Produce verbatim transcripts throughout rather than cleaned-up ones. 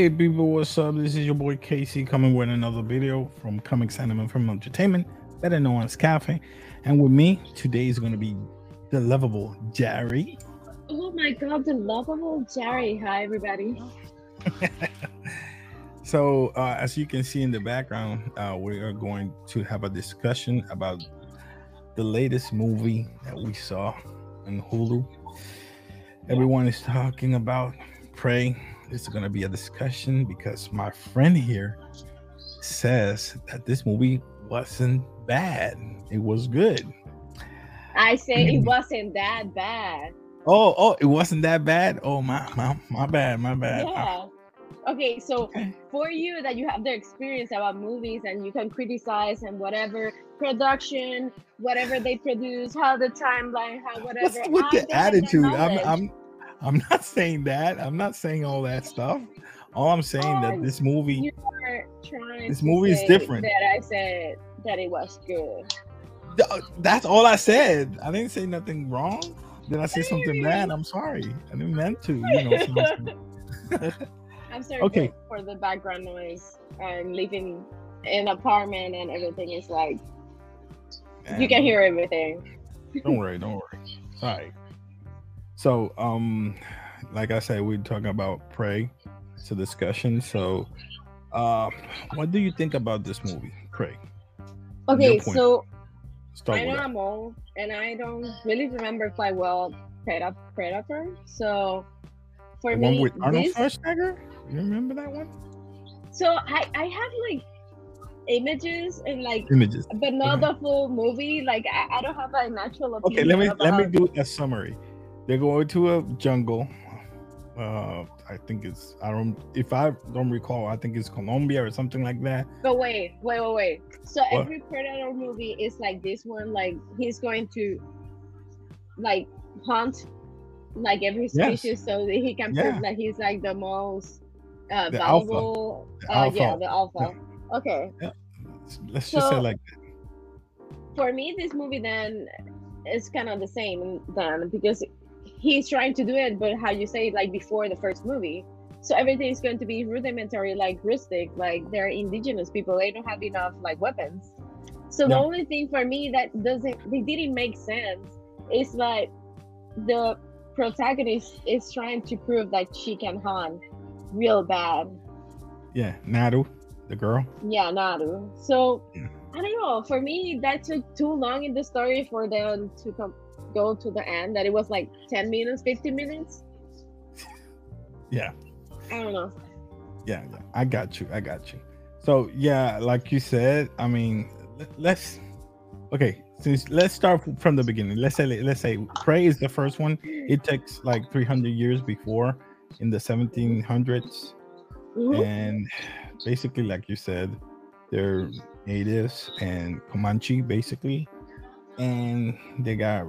Hey people, what's up? This is your boy Casey coming with another video from Comics Anime from Entertainment, better known as Cafe. And with me today is going to be the lovable Jerry. Oh my god, the lovable Jerry. Hi everybody. So uh, as you can see in the background, uh, we are going to have a discussion about the latest movie that we saw on Hulu. Everyone is talking about Prey. This is going to be a discussion because my friend here says that this movie wasn't bad. It was good. I say it wasn't that bad. Oh, oh, it wasn't that bad. Oh, my, my, my bad, my bad. Yeah. Okay, so for you that you have the experience about movies and you can criticize and whatever production, whatever they produce, how the timeline, how whatever. What's with the attitude? I'm, I'm, I'm, I'm not saying that. I'm not saying all that stuff. All I'm saying oh, that this movie, you are trying this to movie is different. That I said that it was good. That's all I said. I didn't say nothing wrong. Did I say something bad? I'm sorry. I didn't meant to. You know. I'm sorry okay. for, for the background noise. I'm living in an apartment and everything is like Man. You can hear everything. Don't worry. Don't worry. All right. So, um, like I said, we're talking about Prey. It's a discussion. So, uh, what do you think about this movie, Prey? Okay, so I know I'm old, and I don't really remember quite well Predator. So, for the me, one with Arnold this... Schwarzenegger. You remember that one? So I, I have like images and like images, but not okay. the full movie. Like I, I don't have an actual opinion. Okay, let me about... let me do a summary. They're going to a jungle. Uh, I think it's I don't if I don't recall. I think it's Colombia or something like that. But wait, wait, wait, wait. So what? Every Predator movie is like this one. Like he's going to like hunt like every species, yes. so that he can yeah. prove that he's like the most uh, the valuable. Alpha. The uh, alpha. Yeah, the alpha. Yeah. Okay. Yeah. Let's so, just say like that. For me, this movie then is kind of the same then because he's trying to do it, but how you say it, like before the first movie. So everything is going to be rudimentary, like rustic, like they're indigenous people. They don't have enough like weapons. So yeah. The only thing for me that doesn't, they didn't make sense is like the protagonist is trying to prove that she can hunt real bad. Yeah, Naru, the girl. Yeah, Naru. So yeah. I don't know. For me, that took too long in the story for them to come. Go to the end that it was like ten minutes, fifteen minutes. Yeah. I don't know. Yeah, yeah. I got you. I got you. So yeah, like you said, I mean, let's okay. Since let's start from the beginning. Let's say let's say Prey is the first one. It takes like three hundred years before in the seventeen hundreds, mm-hmm. and basically, like you said, they're natives and Comanche basically, and they got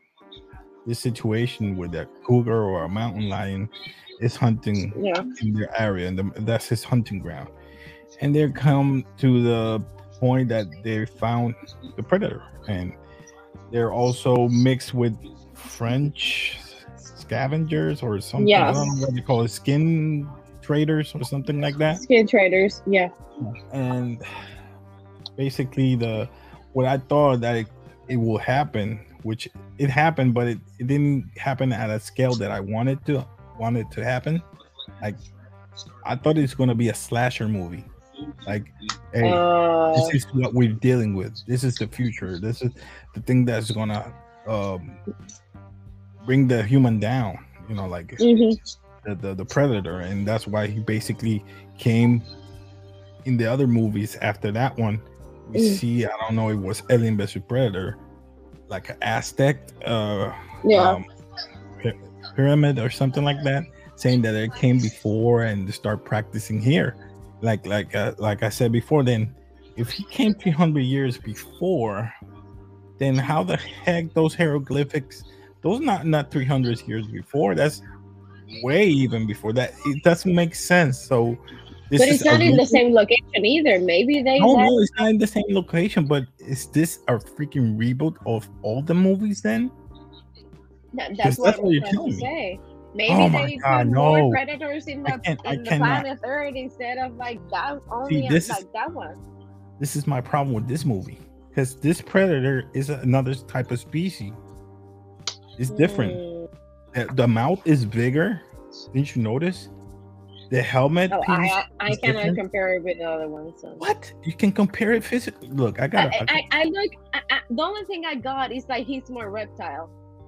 this situation where the cougar or a mountain lion is hunting yeah. in their area, and the, that's his hunting ground. And they come to the point that they found the predator, and they're also mixed with French scavengers or something. Yes. I don't know what they call it, skin traders or something like that. Skin traders, yeah. And basically, the what I thought that it, it will happen. Which it happened, but it, it didn't happen at a scale that I wanted to wanted to happen. Like I thought it's gonna be a slasher movie. Like, hey, uh, this is what we're dealing with. This is the future. This is the thing that's gonna um, bring the human down. You know, like mm-hmm. the, the the predator, and that's why he basically came in the other movies after that one. We mm. see, I don't know, it was Alien versus Predator. Like an Aztec uh, yeah. um, pyramid or something like that, saying that it came before and start practicing here. Like like uh, like I said before, then if he came three hundred years before, then how the heck those hieroglyphics? Those not not three hundred years before. That's way even before that. It doesn't make sense. So. This but it's not in the same location either. Maybe they. No, no, it's not in the same location. But is this a freaking reboot of all the movies then? That, that's what, that's what I'm you're trying telling to me. say. Maybe Oh my they put god, more no. predators in I the can't I in the cannot. planet Earth instead of like that See, only this is like that one. this is my problem with this movie. Because this predator is another type of species. It's different. Mm. The, the mouth is bigger. Didn't you notice? The helmet Oh, piece I I, I is cannot different. compare it with the other ones. So. What? You can compare it physically. Look, I got I, to I, I look. I, I, the only thing I got is like he's more reptile.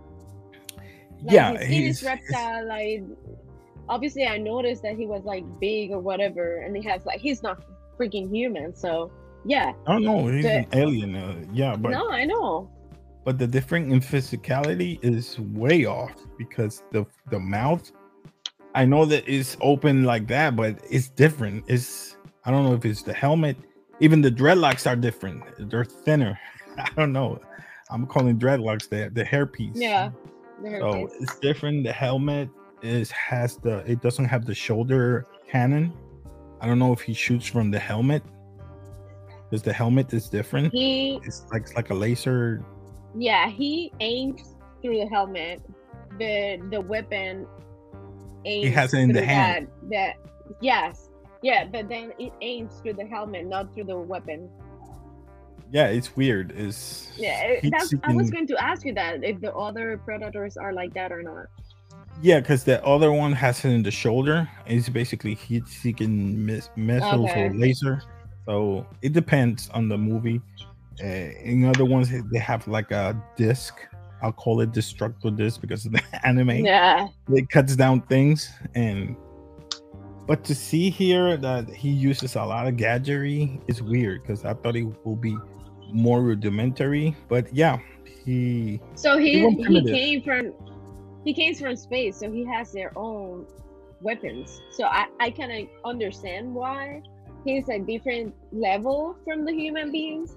Like yeah, his skin he's, is reptile. Like obviously, I noticed that he was like big or whatever, and he has like he's not freaking human. So yeah. I don't know. He's But, an alien. Uh, yeah, but no, I know. but the difference in physicality is way off because the the mouth. I know that it's open like that, but it's different. It's I don't know if it's the helmet. Even the dreadlocks are different. They're thinner. I don't know. I'm calling dreadlocks the the hairpiece. Yeah. The So hairpiece. it's different. The helmet is has the it doesn't have the shoulder cannon. I don't know if he shoots from the helmet because the helmet is different. He It's like it's like a laser. yeah he aims through the helmet. The the weapon aims He has it in the through hand. That, that yes yeah, but then it aims through the helmet, not through the weapon. Yeah, it's weird. It's Yeah, heat that's. I was seeking- going to ask you that if the other predators are like that or not. Yeah, because the other one has it in the shoulder. It's basically heat seeking miss- missiles Okay. or laser. So it depends on the movie. Uh, in other ones, they have like a disc. I'll call it destructo disc because of the anime. Yeah. It cuts down things. And but to see here that he uses a lot of gadgetry is weird because I thought it will be more rudimentary. But yeah, he So he went he primitive. came from he came from space, so he has their own weapons. So I I kind of understand why he's a different level from the human beings.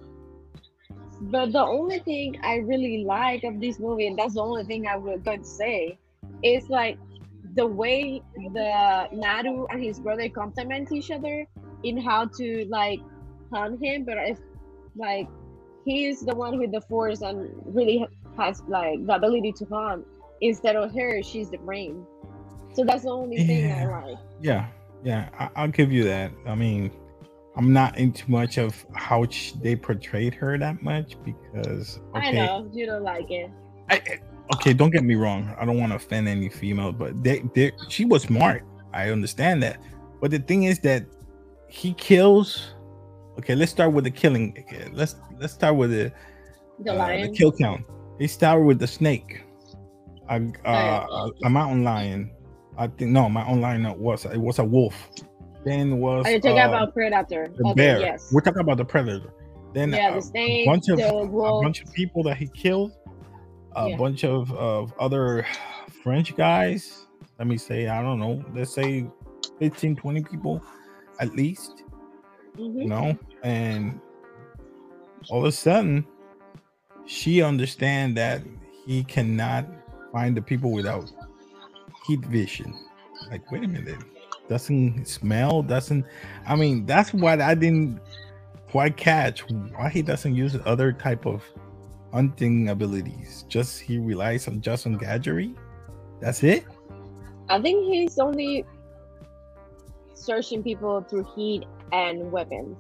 But the only thing I really like of this movie, and that's the only thing I was going to say, is like the way the Naru and his brother complement each other in how to like hunt him. But if like he's the one with the force and really has like the ability to hunt instead of her, she's the brain. So that's the only thing I Yeah. like. Yeah, yeah, I, I'll give you that. I mean, I'm not into much of how sh- they portrayed her that much because I okay, know you don't like it. I, I- okay, don't get me wrong. I don't want to offend any female, but they, they, she was smart. I understand that, but the thing is that he kills. Okay, let's start with the killing. Okay, let's let's start with the The uh, the lion. kill count. He started with the snake, a, uh, yeah. a, a mountain lion. I think no, mountain lion no, was it was a wolf. Then was Are you talking uh, about predator? the Okay, bear. yes. We're talking about the predator. Then Yeah, uh, the a snake, bunch of the a wolf. bunch of people that he killed. A Yeah. bunch of, of other French guys. Let me say, I don't know. Let's say fifteen, twenty people at least. Mhm. You know, and all of a sudden, she understand that he cannot find the people without heat vision. Like, wait a minute, doesn't smell, doesn't. I mean, that's what I didn't quite catch. Why he doesn't use other type of hunting abilities? Just he relies on just on gadgetry. That's it. I think he's only searching people through heat and weapons.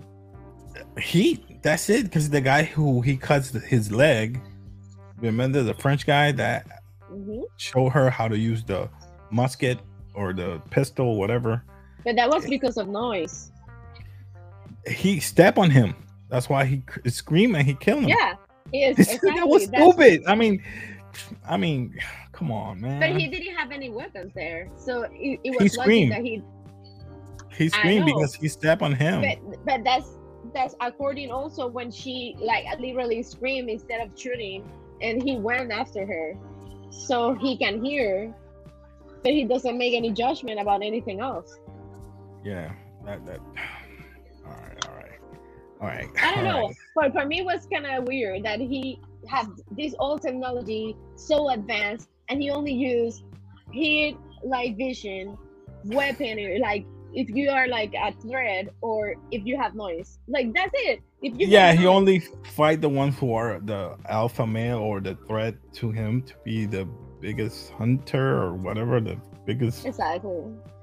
Heat. That's it. Because the guy who he cuts his leg. Remember the French guy that Hmm. show her how to use the musket or the pistol, whatever. But that was because of noise. He stepped on him. That's why he c- screamed and he killed him. Yeah, yes, That exactly. was That's- stupid. I mean, I mean, come on, man. But he didn't have any weapons there, so it, it was He lucky screamed. that he. He screamed know. because he stepped on him. But but that's that's according also when she like literally screamed instead of shooting, and he went after her, so he can hear, but he doesn't make any judgment about anything else. Yeah, that that. All right, all right, all right. I don't all know, right. but for me it was kind of weird that he had this old technology so advanced, and he only used heat, like vision, weaponry, like if you are like a threat or if you have noise, like that's it. If you Yeah, have he noise- only fight the ones who are the alpha male or the threat to him to be the biggest hunter or whatever, the biggest. Exactly.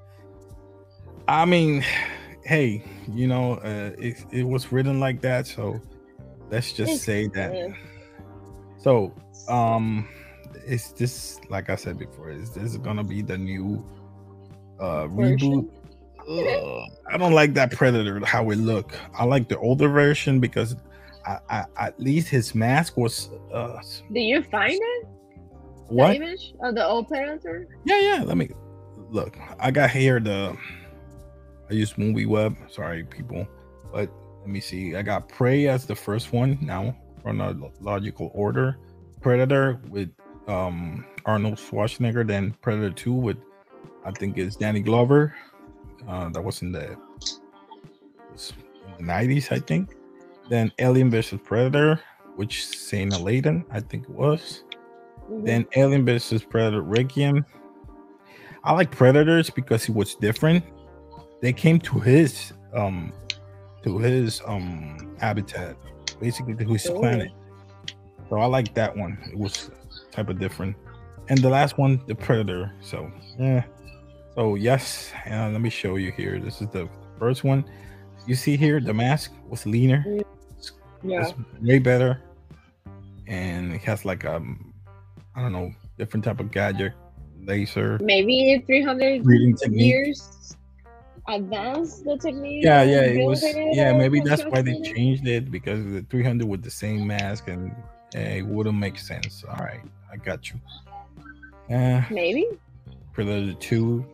I mean, hey, you know, uh, it, it was written like that, so let's just It's, say that. uh, So, um, it's just like I said before, is this gonna be the new uh reboot? version. Ugh, I don't like that Predator how it look. I like the older version because I, I at least his mask was uh Do you find it? The what? image of the old Predator? Yeah, yeah. Let me look. I got here the I use Movie Web. Sorry, people, but let me see. I got Prey as the first one now, chronological order. Predator with um Arnold Schwarzenegger, then Predator two with I think it's Danny Glover. Uh, that was in the, was in the nineties, I think. Then Alien versus Predator, which Sana Layden, I think it was. Mhm. Then Alien versus Predator Requiem. I like Predators because it was different. They came to his um to his um habitat, basically to his Ooh. planet. So I like that one. It was type of different. And the last one, the Predator. So yeah. So yes, uh, let me show you here. This is the first one. You see here, the mask was leaner. It's, Yeah. it's way better, and it has like um, I don't know, different type of gadget, laser Maybe three hundred breathing technique. years advanced the technique. Yeah, of yeah, it was. building it Yeah, or maybe that's why they constructing it. changed it because the three hundred with the same mask, and eh, it wouldn't make sense. All right, I got you. Uh, Maybe. Predator two.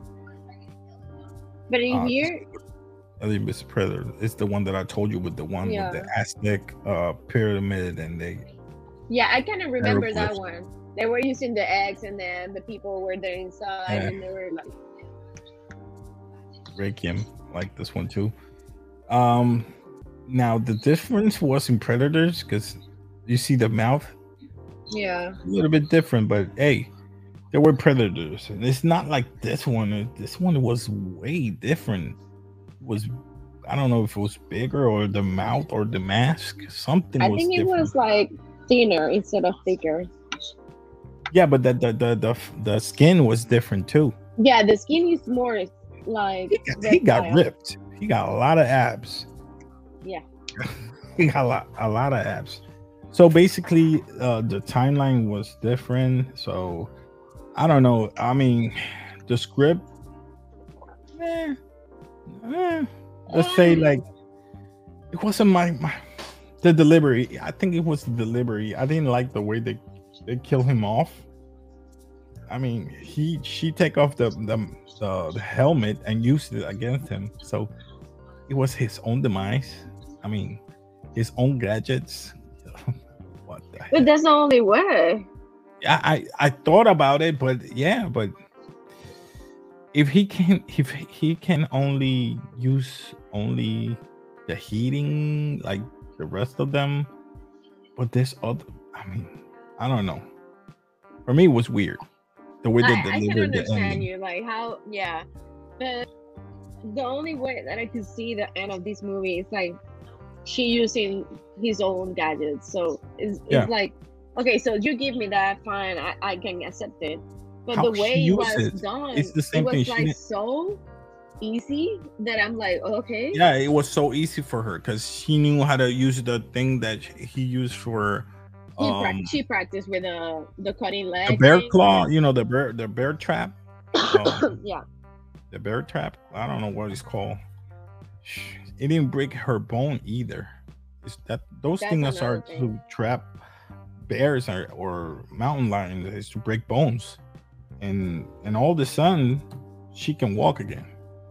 But in Uh, here, Alien versus Predator. It's the one that I told you with the one Yeah. with the Aztec uh, pyramid and they. yeah, I kind of remember that Hieroglyphs. one. They were using the eggs, and then the people were there inside, Yeah. and they were like, Requiem, like this one too. Um, now the difference was in Predators because you see the mouth yeah, a little bit different, but hey, there were Predators, and it's not like this one. This one was way different. It was I don't know if it was bigger or the mouth or the mask. Something I was think it different. was like thinner instead of thicker. Yeah, but the the the the, the skin was different too. Yeah, the skin is more like He got, he got reptile. ripped. He got a lot of abs. Yeah. He got a lot, a lot of abs. So basically, uh, the timeline was different. So I don't know. I mean, the script, eh, eh, let's say like it wasn't my, my the delivery. I think it was the delivery. I didn't like the way they they kill him off. I mean, he she take off the the, the the helmet and used it against him. So it was his own demise. I mean, his own gadgets. What the heck? But that's the only way. I, I I thought about it, but yeah, but if he can if he can only use only the heating like the rest of them, but this other, I mean, I don't know. For me, it was weird the way they I, I can delivered the understand ending. you, like how, yeah. But the only way that I could see the end of this movie is like she using his own gadgets. So it's, Yeah. it's like, okay, so you give me that, fine, I, I can accept it. But How the she way it used was it, done, it's the it same was thing. She like didn't- so easy that I'm like, okay. Yeah, it was so easy for her because she knew how to use the thing that he used for He prac- um, she practiced with uh, the cutting leg. the bear thing. claw. You know the bear the bear trap. Um, Yeah. the bear trap. I don't know what it's called. It didn't break her bone either. It's that those That's things are another thing. to trap bears or, or mountain lions. Is to break bones, and and all of a sudden she can walk again.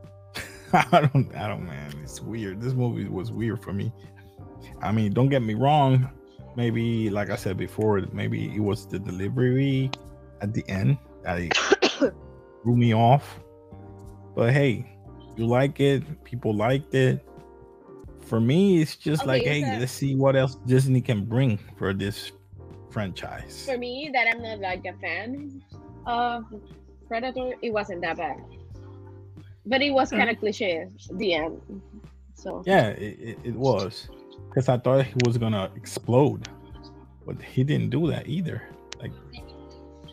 I don't, I don't, man. It's weird. This movie was weird for me. I mean, don't get me wrong. Maybe, like I said before, maybe it was the delivery at the end that threw me off. But hey, you like it. People liked it. For me, it's just Okay, like, is hey, that- let's see what else Disney can bring for this franchise. For me, that I'm not like a fan of Predator, it wasn't that bad. But it was kind of cliche at the end. So Yeah, it, it, it was. Because I thought he was gonna explode. But he didn't do that either. Like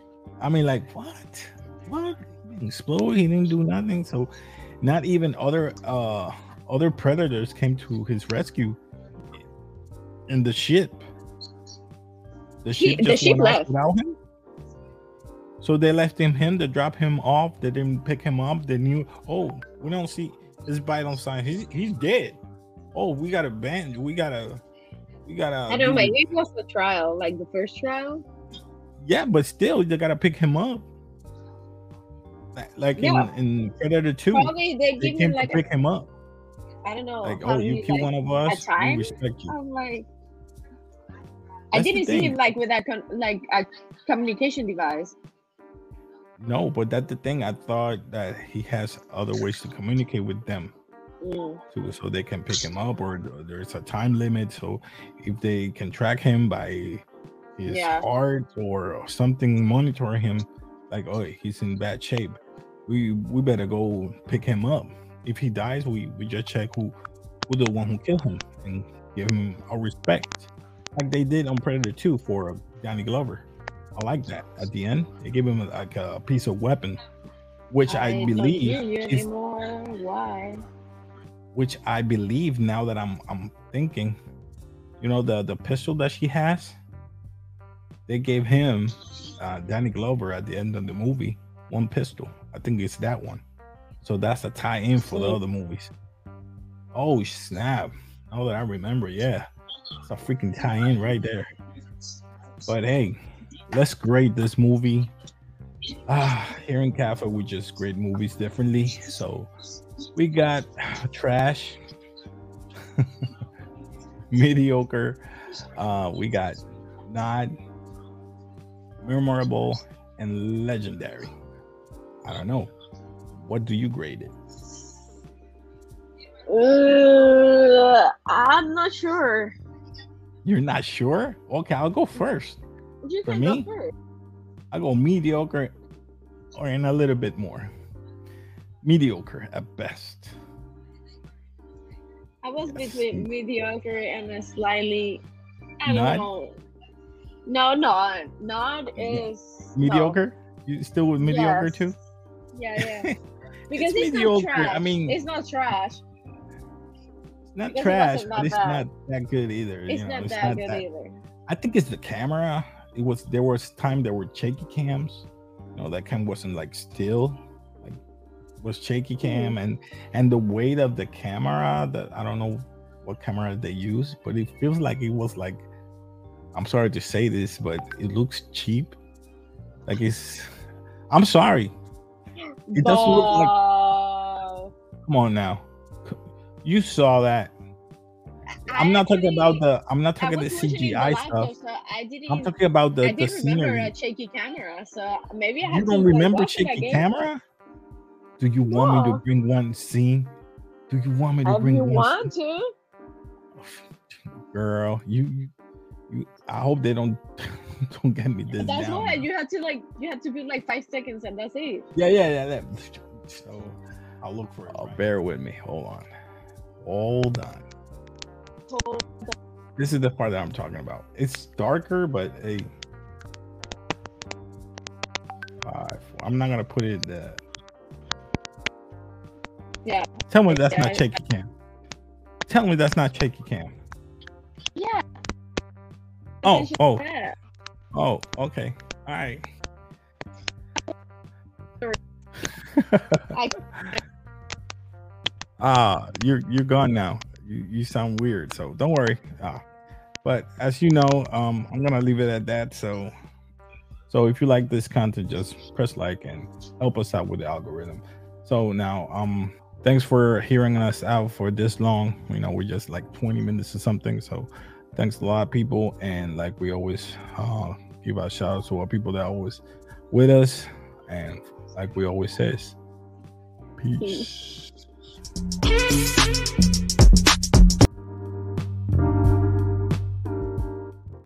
I mean, like what? What? He didn't explode. He didn't do nothing. So, not even other uh other predators came to his rescue in the ship. The ship He, the just ship went off left. without him. So they left him him to drop him off. They didn't pick him up. They knew. Oh, we don't see this vital sign. He's he's dead. Oh, we got a band. We gotta. We gotta. I don't know. Maybe it was the trial, like the first trial. Yeah, but still, they gotta pick him up. Like, like Yeah. in, in Predator two, Probably they they give came him like to pick a, him up. I don't know. Like, how oh, you many, kill like, one of a us, we time. respect you. I'm like, I That's the didn't see thing. him like with that con- like a communication device. No, but that's the thing. I thought that he has other ways to communicate with them. Mm. To, so they can pick him up, or there's a time limit. So if they can track him by his Yeah. heart or something, monitor him, like, oh, he's in bad shape, we we better go pick him up. If he dies, we we just check who who the one who killed him and give him our respect, like they did on Predator two for Danny Glover. I like that. At the end, they gave him like a piece of weapon, which I, I don't believe hear you is anymore. Why? which I believe now that I'm I'm thinking, you know, the the pistol that she has, they gave him uh, Danny Glover at the end of the movie one pistol. I think it's that one. So that's a tie-in for the Hmm. other movies. Oh snap! Now that I remember, yeah, it's a freaking tie-in right there. But hey, let's grade this movie. Ah, here in Cafe, we just grade movies differently. So we got trash, mediocre. Uh, we got nod, memorable, and legendary. I don't know. What do you grade it? Uh, I'm not sure. You're not sure? Okay, I'll go first. You For can me? go first. I go mediocre or in a little bit more. Mediocre at best. I was Yes. between mediocre and a slightly. I don't Not? know. No, not not is no. Mediocre? You still with mediocre Yes. too? Yeah, yeah. Because It's it's, mediocre. not trash. I mean- it's not trash. It's not Because it trash, wasn't but that it's bad. not that good either. It's you know, not it's that not good that. either. I think it's the camera. It was there was time there were shaky cams. You know, that cam wasn't like still, like it was shaky cam, and and the weight of the camera. That I don't know what camera they use, but it feels like it was like. I'm sorry to say this, but it looks cheap. Like it's. I'm sorry. It doesn't look like. But Come on now. You saw that. I I'm not talking actually- about the. I'm not I talking the was watching C in G the I laptop, stuff. so I didn't. I'm talking about the I the didn't remember scenery. a shaky camera, so maybe I had You to, don't like, remember watch it shaky again. camera? Do you want me No. to bring one scene? Do you want me to If bring you one want scene? to, Girl, you, you, you I hope they don't don't get me this that's down. why you had to like you had to be like five seconds and that's it. Yeah, yeah, yeah. That, so I'll look for it. Oh, bear with me. Hold on. Hold on. Hold This is the part that I'm talking about. It's darker, but hey, five. I'm not gonna put it. Uh, Yeah. Tell me that's Yeah. not shaky cam. Tell me that's not shaky cam. Yeah. Oh, oh, Yeah. oh. Okay. All right. I- Ah, you're you're gone now. You you sound weird, so don't worry. Ah, but as you know, um, I'm gonna leave it at that. So, so if you like this content, just press like and help us out with the algorithm. So now, um, thanks for hearing us out for this long. You know, we're just like twenty minutes or something. So, thanks a lot, people. And like we always uh, give our shout out to our people that are always with us. And like we always says, peace. Peace.